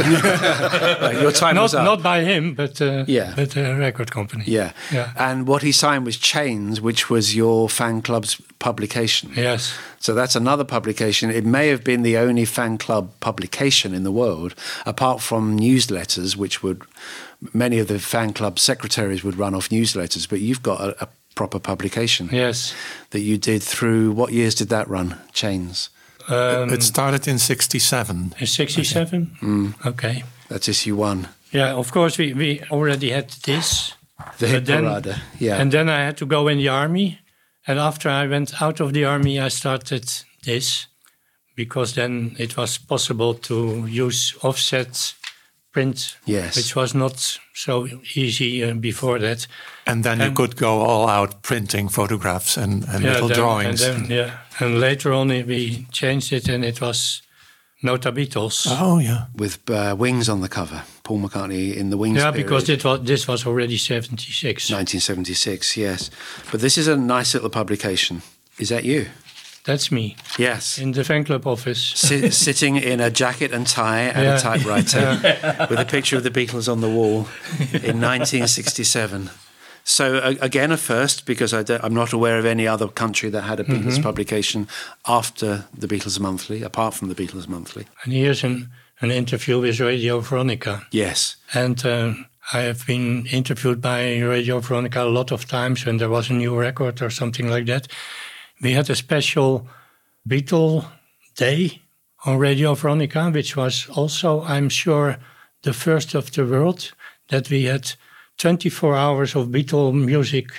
Your time was up. Not by him, but the record company. Yeah. And what he signed was Chains, which was your fan club's publication. Yes. So that's another publication. It may have been the only fan club publication in the world, apart from newsletters, which many of the fan club secretaries would run off newsletters, but you've got a proper publication. Yes. That you did through, what years did that run, Chains? It started in '67. In '67? Okay. That's issue 1. Yeah, of course, we already had this. The hit parade, yeah. And then I had to go in the army. And after I went out of the army, I started this. Because then it was possible to use offset print, which was not so easy before that. And then you could go all out printing photographs and little drawings. And later on we changed it, and it was Nota Beatles. Oh, yeah. With Wings on the cover. Paul McCartney in the Wings Yeah, period. because this was already 76. 1976, yes. But this is a nice little publication. Is that you? That's me. Yes. In the fan club office. Sitting in a jacket and tie and a typewriter with a picture of the Beatles on the wall in 1967. So again, a first, because I'm not aware of any other country that had a Beatles publication after the Beatles Monthly, apart from the Beatles Monthly. And here's an interview with Radio Veronica. Yes. And I have been interviewed by Radio Veronica a lot of times when there was a new record or something like that. We had a special Beatle Day on Radio Veronica, which was also, I'm sure, the first of the world, that we had 24 hours of Beatle music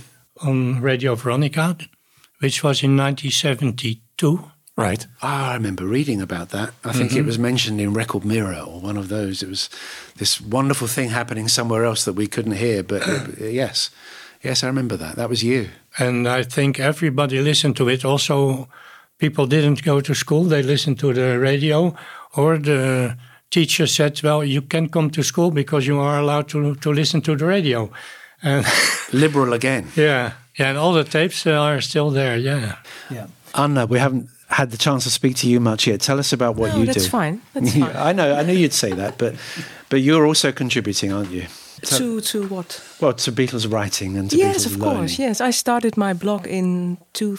on Radio Veronica, which was in 1972. Right. I remember reading about that. I think it was mentioned in Record Mirror or one of those. It was this wonderful thing happening somewhere else that we couldn't hear. But yes, I remember that. That was you. And I think everybody listened to it. Also, people didn't go to school. They listened to the radio, or the teacher said, well, you can come to school because you are allowed to listen to the radio. And liberal again. Yeah, and all the tapes are still there, yeah. Anna, we haven't had the chance to speak to you much yet. Tell us about what you do. That's fine. That's fine. I knew you'd say that, but you're also contributing, aren't you? To what? Well, to Beatles writing and to Beatles learning. Yes, of course. Yes, I started my blog in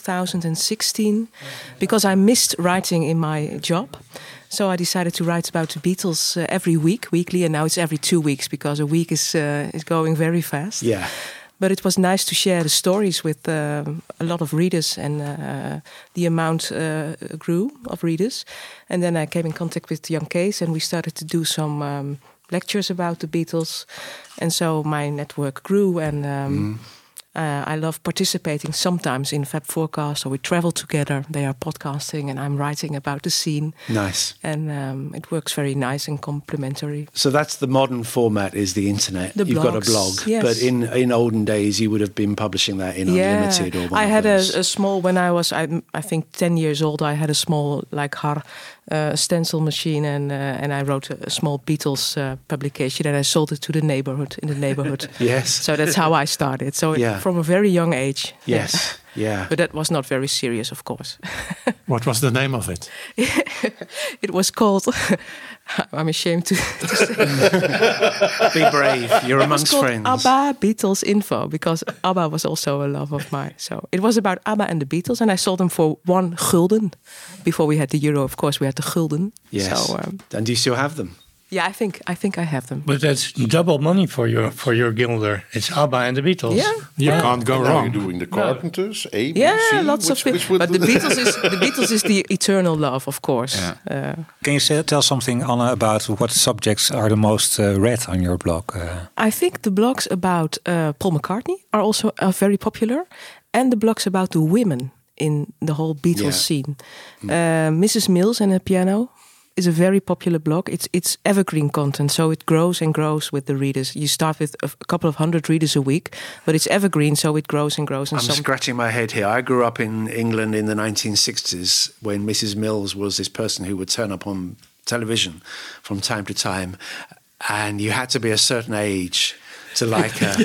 2016 because I missed writing in my job. So I decided to write about the Beatles every week, weekly, and now it's every 2 weeks because a week is going very fast. Yeah. But it was nice to share the stories with a lot of readers, and the amount grew of readers. And then I came in contact with Jan Kees, and we started to do some lectures about the Beatles. And so my network grew, and I love participating sometimes in Fab Forecast, or we travel together. They are podcasting, and I'm writing about the scene. Nice. And it works very nice and complementary. So that's the modern format, is the internet. The You've got a blogs, blog. yes. But in olden days, you would have been publishing that in Unlimited or one I of had those. a small, when I was, I think, 10 years old, I had a small, like, stencil machine, and I wrote a small Beatles publication, and I sold it to the neighborhood. Yes. So that's how I started. So from a very young age. Yes. Yeah. But that was not very serious, of course. What was the name of it? It was called, I'm ashamed to say. Be brave. You're It was amongst called friends. ABBA Beatles Info, because ABBA was also a love of mine. So it was about ABBA and the Beatles, and I sold them for €1. Before we had the euro, of course, we had the gulden. Yes. So, and do you still have them? yeah, I think I have them. But that's double money for your guilder. It's ABBA and the Beatles. Yeah. You can't go Now wrong. you're doing the Carpenters, A, B, Yeah, C. lots of people. But the Beatles is the eternal love, of course. Can you tell something, Anna, about what subjects are the most read on your blog? I think the blogs about Paul McCartney are also very popular, and the blogs about the women in the whole Beatles scene. Mrs. Mills and her piano is a very popular blog. It's evergreen content, so it grows and grows with the readers. You start with a couple of hundred readers a week, but it's evergreen, so it grows and grows. And I'm scratching my head here. I grew up in England in the 1960s when Mrs. Mills was this person who would turn up on television from time to time, and you had to be a certain age to like her.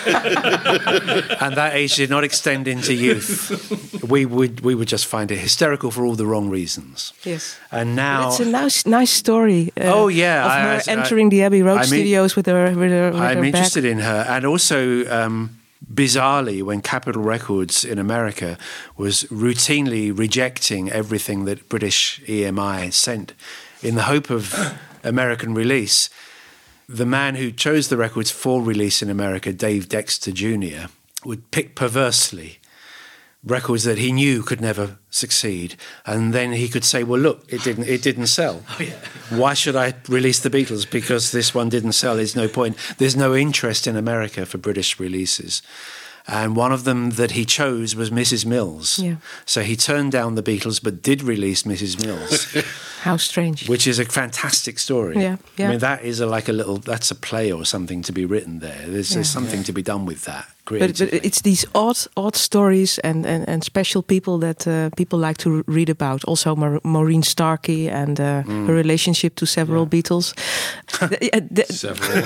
And that age did not extend into youth. We would just find it hysterical for all the wrong reasons. Yes. And now But it's a nice story. Oh, yeah. Of her entering the Abbey Road studios with her I'm bag. interested in her. And also, bizarrely, when Capitol Records in America was routinely rejecting everything that British EMI sent in the hope of American release, the man who chose the records for release in America, Dave Dexter Jr., would pick perversely records that he knew could never succeed, and then he could say, "Well, look, it didn't sell. Why should I release the Beatles? Because this one didn't sell. There's no point. There's no interest in America for British releases." And one of them that he chose was Mrs. Mills. Yeah. So he turned down the Beatles, but did release Mrs. Mills. How strange. Which is a fantastic story. Yeah, yeah. I mean, that is that's a play or something to be written there. There's something to be done with that. But it's these odd stories and special people that people like to read about. Also, Maureen Starkey and her relationship to several Beatles. Several.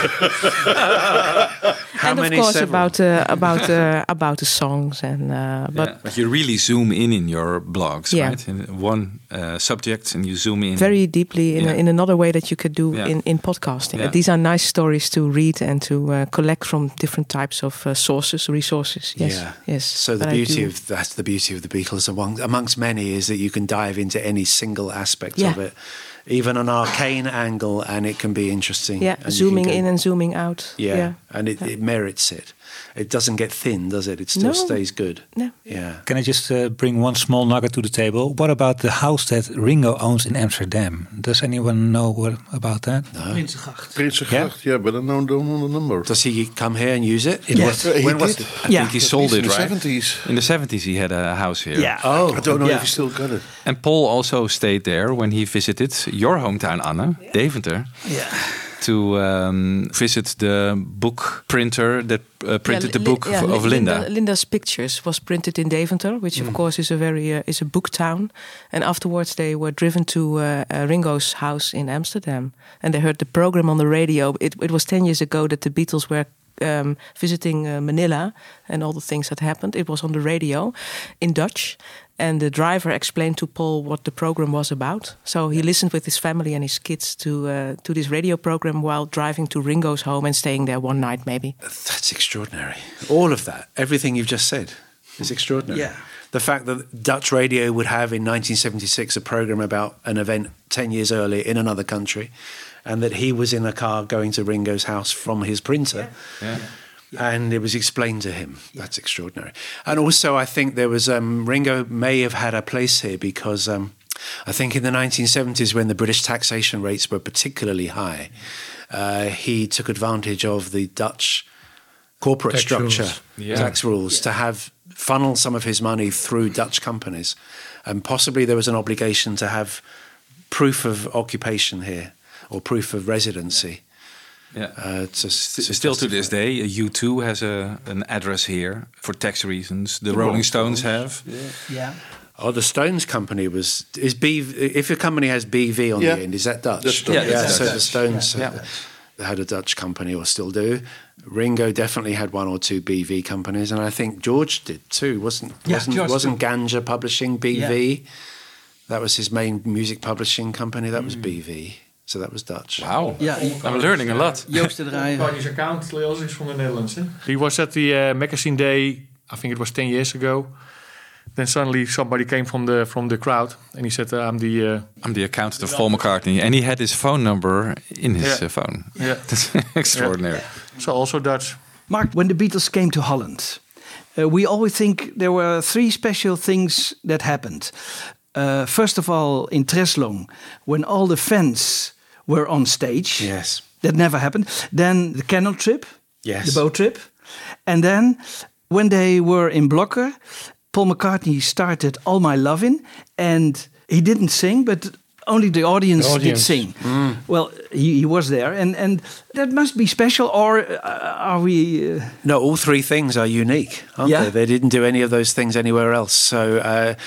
How and many? Of course, Several? about the songs and But you really zoom in your blogs, Yeah. right? In one subject, and you zoom in very deeply in another way that you could do Yeah. in podcasting. Yeah. These are nice stories to read and to collect from different types of resources. Yes, Yeah. yes. So But that's the beauty of the Beatles amongst many, is that you can dive into any single aspect of it, even an arcane angle, and it can be interesting. Yeah, And you zooming can go- in and zooming out. Yeah, and it merits it. It doesn't get thin, does it? It still No. stays good. No. Yeah. Can I just bring one small nugget to the table? What about the house that Ringo owns in Amsterdam? Does anyone know about that? No. Prinsengracht, yeah, but I don't know the number. Does he come here and use it? When was it? I think he sold it, in the right? 70s. In the 70s, he had a house here. Yeah. Oh, I don't know if he still got it. And Paul also stayed there when he visited your hometown, Anne, Deventer, to visit the book printer that printed the book of Linda. Linda's Pictures was printed in Deventer, which of course is is a book town. And afterwards they were driven to Ringo's house in Amsterdam, and they heard the program on the radio. It was 10 years ago that the Beatles were visiting Manila and all the things that happened. It was on the radio in Dutch. And the driver explained to Paul what the program was about. So he listened with his family and his kids to this radio program while driving to Ringo's home and staying there one night, maybe. That's extraordinary. All of that, everything you've just said, is extraordinary. Yeah. The fact that Dutch radio would have in 1976 a program about an event 10 years earlier in another country, and that he was in a car going to Ringo's house from his printer. Yeah. And it was explained to him. That's extraordinary. And also, I think there was Ringo may have had a place here because I think in the 1970s, when the British taxation rates were particularly high, he took advantage of the Dutch corporate Tax structure, rules. tax rules, to have funnel some of his money through Dutch companies, and possibly there was an obligation to have proof of occupation here or proof of residency. Yeah. Still to this day, U2 has an address here for tax reasons. The Rolling Stones have. Yeah. Oh, the Stones company if a company has BV on the end, is that Dutch? That's Dutch. Yeah, so the Stones had a Dutch company, or still do. Ringo definitely had one or two BV companies, and I think George did too. Wasn't Ganja Publishing BV? Yeah. That was his main music publishing company. That was BV. So that was Dutch. Wow. Yeah, I'm learning a lot. Joost de Draaier. His account is from the Netherlands. He was at the magazine day, I think it was 10 years ago. Then suddenly somebody came from the crowd and he said, I'm the accountant of Paul McCartney. And he had his phone number in his phone. Yeah. That's extraordinary. Yeah. So also Dutch. Mark, when the Beatles came to Holland, we always think there were three special things that happened. First of all, in Treslong, when all the fans were on stage. Yes. That never happened. Then the canal trip. Yes. The boat trip. And then when they were in Blokker, Paul McCartney started All My Lovin', and he didn't sing, but only the audience did sing. Mm. Well, he was there, and that must be special, or are we... No, all three things are unique, aren't they? They didn't do any of those things anywhere else, so...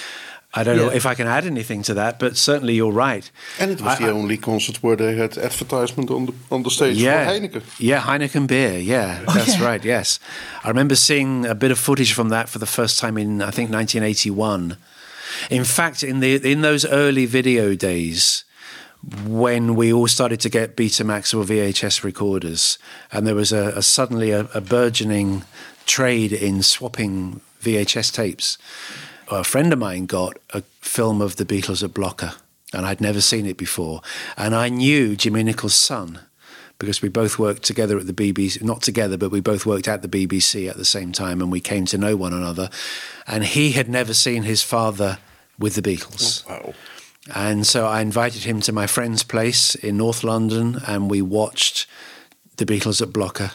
I don't know if I can add anything to that, but certainly you're right. And it was the only concert where they had advertisement on the stage for Heineken. Yeah, Heineken beer. Yeah, that's right. Yes, I remember seeing a bit of footage from that for the first time in I think 1981. In fact, in those early video days, when we all started to get Betamax or VHS recorders, and there was suddenly a burgeoning trade in swapping VHS tapes. A friend of mine got a film of the Beatles at Blokker, and I'd never seen it before. And I knew Jimmy Nichols' son, because we both worked together at the BBC, not together, but we both worked at the BBC at the same time, and we came to know one another. And he had never seen his father with the Beatles. Oh, wow. And so I invited him to my friend's place in North London, and we watched the Beatles at Blokker.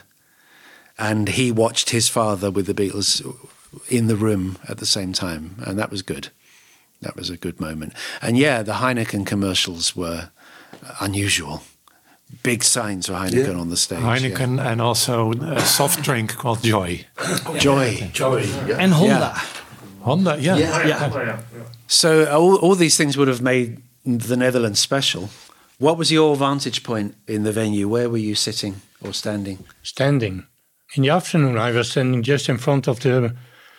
And he watched his father with the Beatles in the room at the same time, and that was good. That was a good moment. And the Heineken commercials were unusual. Big signs for Heineken on the stage. Heineken and also a soft drink called Joy. Joy. And Honda. Honda, Yeah. So all these things would have made the Netherlands special. What was your vantage point in the venue? Where were you sitting or standing? Standing. In the afternoon, I was standing just in front of the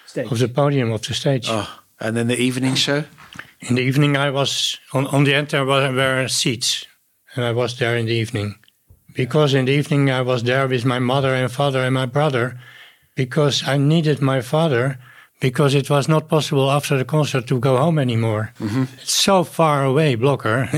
podium of the stage. Oh, and then the evening show? In the evening, I was on the end. There were seats, and I was there in the evening. Because in the evening, I was there with my mother and father and my brother, because I needed my father, because it was not possible after the concert to go home anymore. Mm-hmm. It's so far away, Blokker.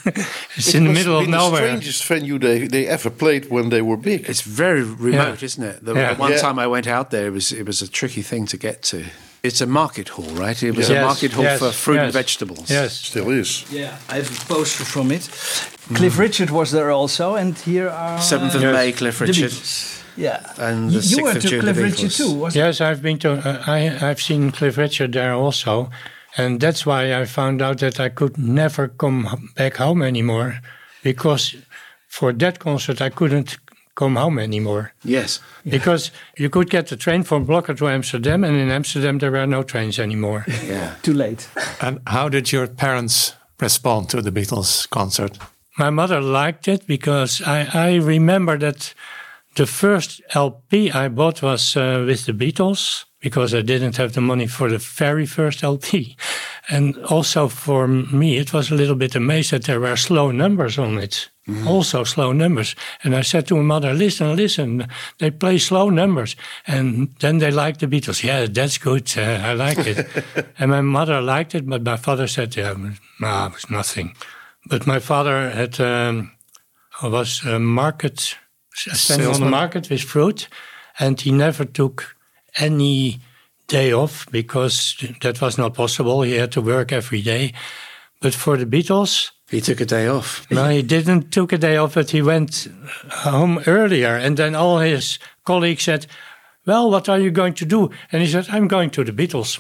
It's in the middle of nowhere. The strangest venue they ever played when they were big. It's very remote, isn't it? The one time I went out there, it was a tricky thing to get to. It's a market hall, right? It was a market hall for fruit and vegetables. Yes, still is. Yeah, I have a poster from it. Cliff Richard was there also, and here are 7th of May, Cliff Richard. Yeah, and the 6th of June, you went to Cliff Richard too, wasn't you? Yes, I've been to. I've seen Cliff Richard there also, and that's why I found out that I could never come back home anymore, because for that concert I couldn't come home anymore. Yes, because you could get the train from Blokker to Amsterdam, and in Amsterdam there were no trains anymore. Yeah, too late. And how did your parents respond to the Beatles concert? My mother liked it because I remember that. The first LP I bought was with the Beatles, because I didn't have the money for the very first LP. And also for me, it was a little bit amazed that there were slow numbers on it. Mm-hmm. Also slow numbers. And I said to my mother, listen, they play slow numbers. And then they liked the Beatles. Yeah, that's good, I like it. And my mother liked it, but my father said, it was nothing. But my father was a market... standing on the market with fruit, and he never took any day off because that was not possible. He had to work every day. But for the Beatles, he took a day off. No, he didn't took a day off, but he went home earlier. And then all his colleagues said, well, what are you going to do? And he said, I'm going to the Beatles.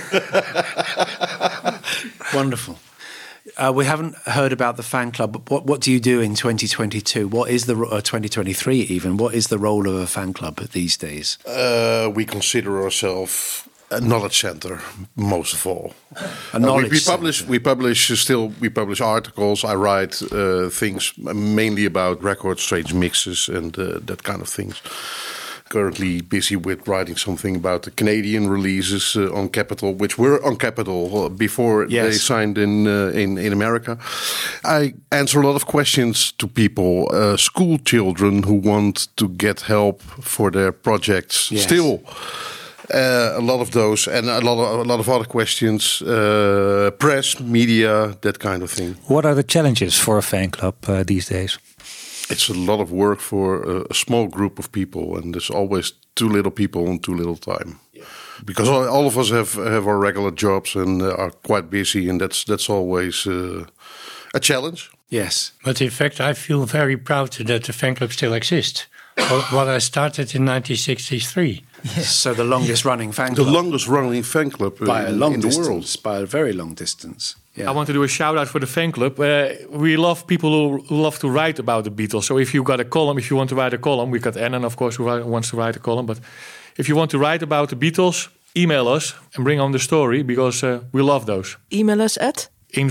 Wonderful. We haven't heard about the fan club, but what do you do in 2022? What is the 2023 even? What is the role of a fan club these days? We consider ourselves a knowledge center, most of all. We publish articles. I write things mainly about records, strange mixes, and that kind of things. Currently busy with writing something about the Canadian releases on Capitol, which were on Capitol before they signed in America. I answer a lot of questions to people, school children who want to get help for their projects. Yes. Still, a lot of those, and a lot of other questions. Press, media, that kind of thing. What are the challenges for a fan club these days? It's a lot of work for a small group of people, and there's always too little people and too little time. Yeah. Because all of us have our regular jobs and are quite busy, and that's always a challenge. Yes. But in fact, I feel very proud that the fan club still exists. What I started in 1963. Yes. So the longest running fan club. The longest running fan club by a long in distance, the world. by a very long distance. Yeah. I want to do a shout out for the fan club. We love people who love to write about the Beatles. So if you got a column, if you want to write a column, we got Annan, of course, who wants to write a column. But if you want to write about the Beatles, email us and bring on the story, because we love those. Email us at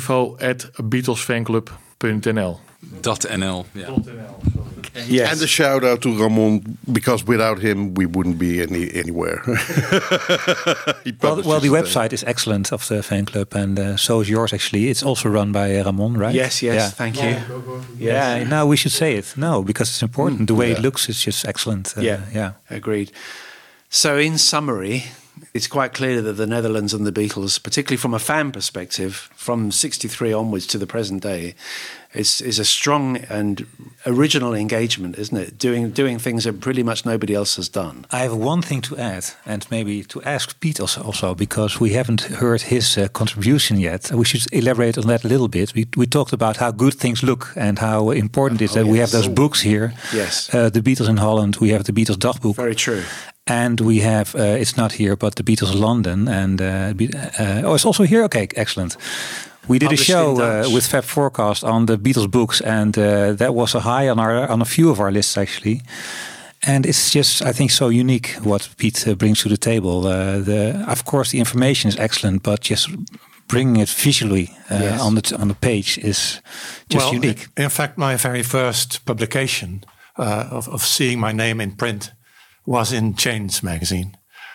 info@beatlesfanclub.nl. .nl, yeah. Yes. And a shout out to Ramon, because without him we wouldn't be anywhere. Well, the website is excellent of the fan club, and so is yours actually. It's also run by Ramon, right? Yes, yeah. Thank you. Yeah, now we should say it. No, because it's important. The way it looks is just excellent. Yeah, agreed. So in summary, it's quite clear that the Netherlands and the Beatles, particularly from a fan perspective, from 63 onwards to the present day, is a strong and original engagement, isn't it? Doing things that pretty much nobody else has done. I have one thing to add, and maybe to ask Piet also, because we haven't heard his contribution yet. We should elaborate on that a little bit. We talked about how good things look and how important it is that we have those books here. Yes. The Beatles in Holland, we have the Beatles Dagboek. Very true. And we have, it's not here, but the Beatles London. And it's also here? Okay, excellent. We did a show with Fab Forecast on the Beatles books, and that was a high on a few of our lists actually. And it's just, I think, so unique what Piet brings to the table. Of course, the information is excellent, but just bringing it visually on the page is just unique. In fact, my very first publication of seeing my name in print was in Change magazine.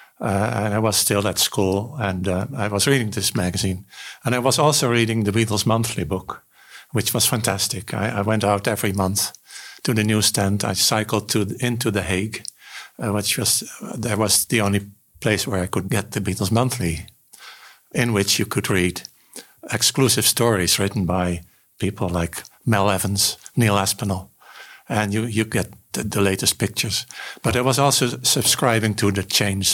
And I was still at school, and I was reading this magazine. And I was also reading the Beatles monthly book, which was fantastic. I went out every month to the newsstand. I cycled into The Hague, which was the only place where I could get the Beatles monthly, in which you could read exclusive stories written by people like Mel Evans, Neil Aspinall, and you get the latest pictures. But I was also subscribing to the Change.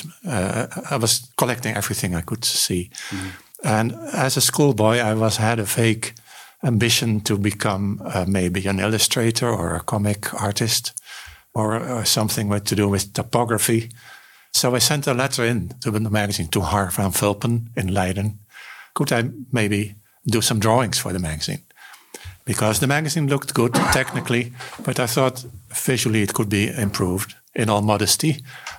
I was collecting everything I could see. Mm-hmm. And as a schoolboy, I had a vague ambition to become maybe an illustrator or a comic artist or something to do with typography. So I sent a letter in to the magazine to Har van Vulpen in Leiden. Could I maybe do some drawings for the magazine? Because the magazine looked good technically, but I thought visually it could be improved, in all modesty.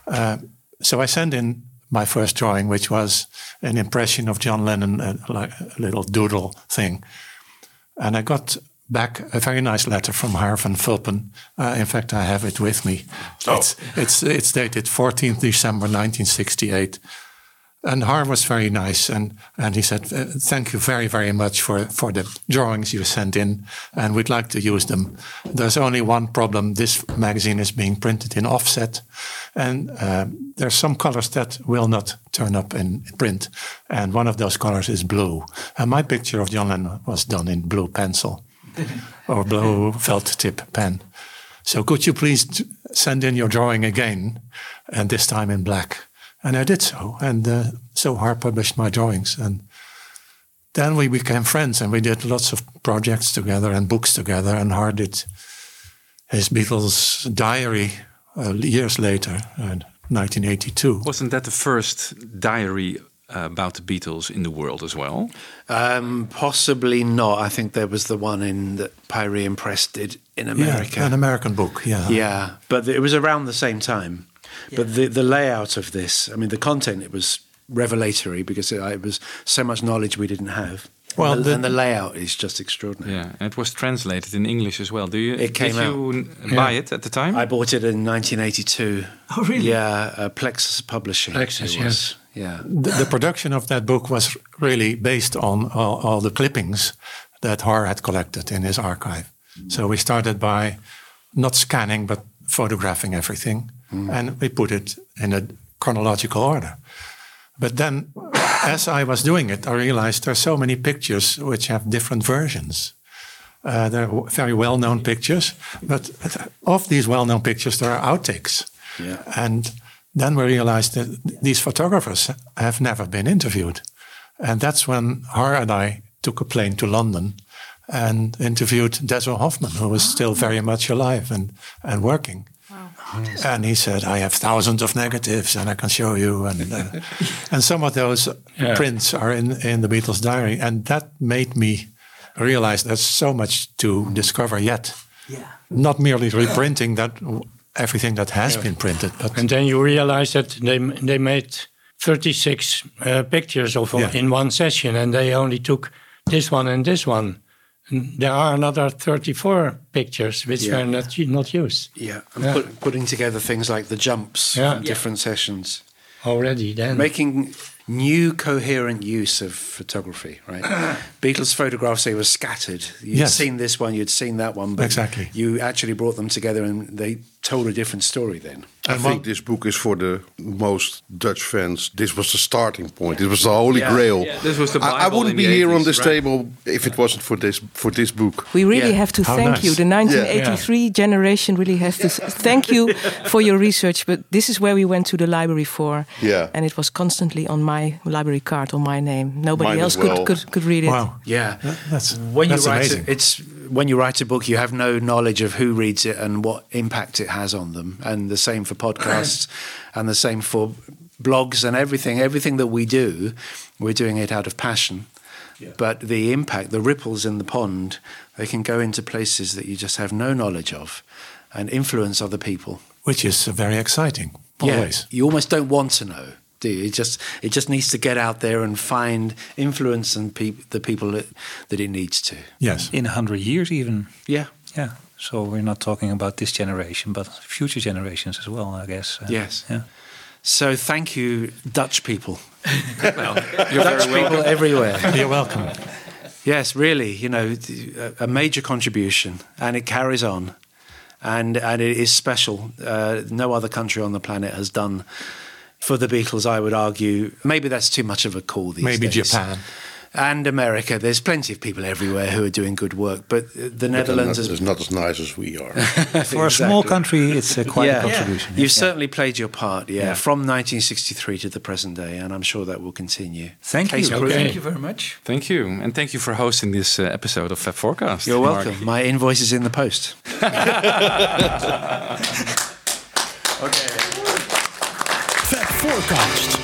So I sent in my first drawing, which was an impression of John Lennon, like a little doodle thing. And I got back a very nice letter from Har van Vulpen. In fact, I have it with me. Oh. It's dated 14th December 1968. And Har was very nice, and he said, thank you very, very much for the drawings you sent in, and we'd like to use them. There's only one problem. This magazine is being printed in offset, and there's some colors that will not turn up in print, and one of those colors is blue. And my picture of John Lennon was done in blue pencil, or blue felt tip pen. So could you please send in your drawing again, and this time in black. And I did so, and so Har published my drawings. And then we became friends, and we did lots of projects together and books together, and Har did his Beatles diary years later, 1982. Wasn't that the first diary about the Beatles in the world as well? Possibly not. I think there was the one that Pyrie and Press did in America. Yeah, an American book, yeah. Yeah, but it was around the same time. Yeah. But the layout of this, I mean, the content, it was revelatory because it was so much knowledge we didn't have. Well, and the layout is just extraordinary. Yeah, and it was translated in English as well. It came out. Did you buy it at the time? I bought it in 1982. Oh, really? Yeah, Plexus Publishing. Plexus, yes. Yeah. The production of that book was really based on all the clippings that Har had collected in his archive. So we started by not scanning, but photographing everything. And we put it in a chronological order. But then, as I was doing it, I realized there are so many pictures which have different versions. They're very well-known pictures, but of these well-known pictures, there are outtakes. Yeah. And then we realized that these photographers have never been interviewed. And that's when Har and I took a plane to London and interviewed Deso Hoffman, who was still very much alive and working. And he said, I have thousands of negatives and I can show you. And some of those prints are in the Beatles diary. And that made me realize there's so much to discover yet. Yeah. Not merely reprinting everything that has been printed. But and then you realize that they made 36 pictures in one session, and they only took this one and this one. And there are another 34 pictures which were not used. Yeah, and putting together things like the jumps from different sessions. Already then. Making new coherent use of photography, right? Beatles photographs, they were scattered. You'd seen this one, you'd seen that one, but exactly. You actually brought them together and they told a different story then. I think this book is for the most Dutch fans. This was the starting point. It was the holy grail. Yeah. This was the Bible. I wouldn't be here 80s, on this table if it wasn't for this book. We really have to thank you. The 1983 generation really has to thank you for your research. But this is where we went to the library for. Yeah. And it was constantly on my library card, on my name. Nobody Mine else as well. could read it. Wow. Yeah. That's write amazing. When you write a book, you have no knowledge of who reads it and what impact it has on them. And the same for podcasts and the same for blogs and everything. Everything that we do, we're doing it out of passion. Yeah. But the impact, the ripples in the pond, they can go into places that you just have no knowledge of and influence other people. Which is very exciting, always. Yeah, you almost don't want to know, do you? It just needs to get out there and find influence and the people that it needs to. Yes. In 100 years even. Yeah. Yeah. So we're not talking about this generation, but future generations as well, I guess. Yes. Yeah. So thank you, Dutch people. Well, you're Dutch people everywhere. You're welcome. Yes, really, a major contribution, and it carries on, and it is special. No other country on the planet has done for the Beatles, I would argue. Maybe that's too much of a call these days. Maybe Japan. And America. There's plenty of people everywhere who are doing good work, but the Netherlands is not as nice as we are. For a small country, it's quite a contribution. You've certainly played your part, from 1963 to the present day, and I'm sure that will continue. Thank you. Thank you very much. Thank you. And thank you for hosting this episode of Fab Forecast. You're welcome. Mark. My invoice is in the post. Fab Forecast.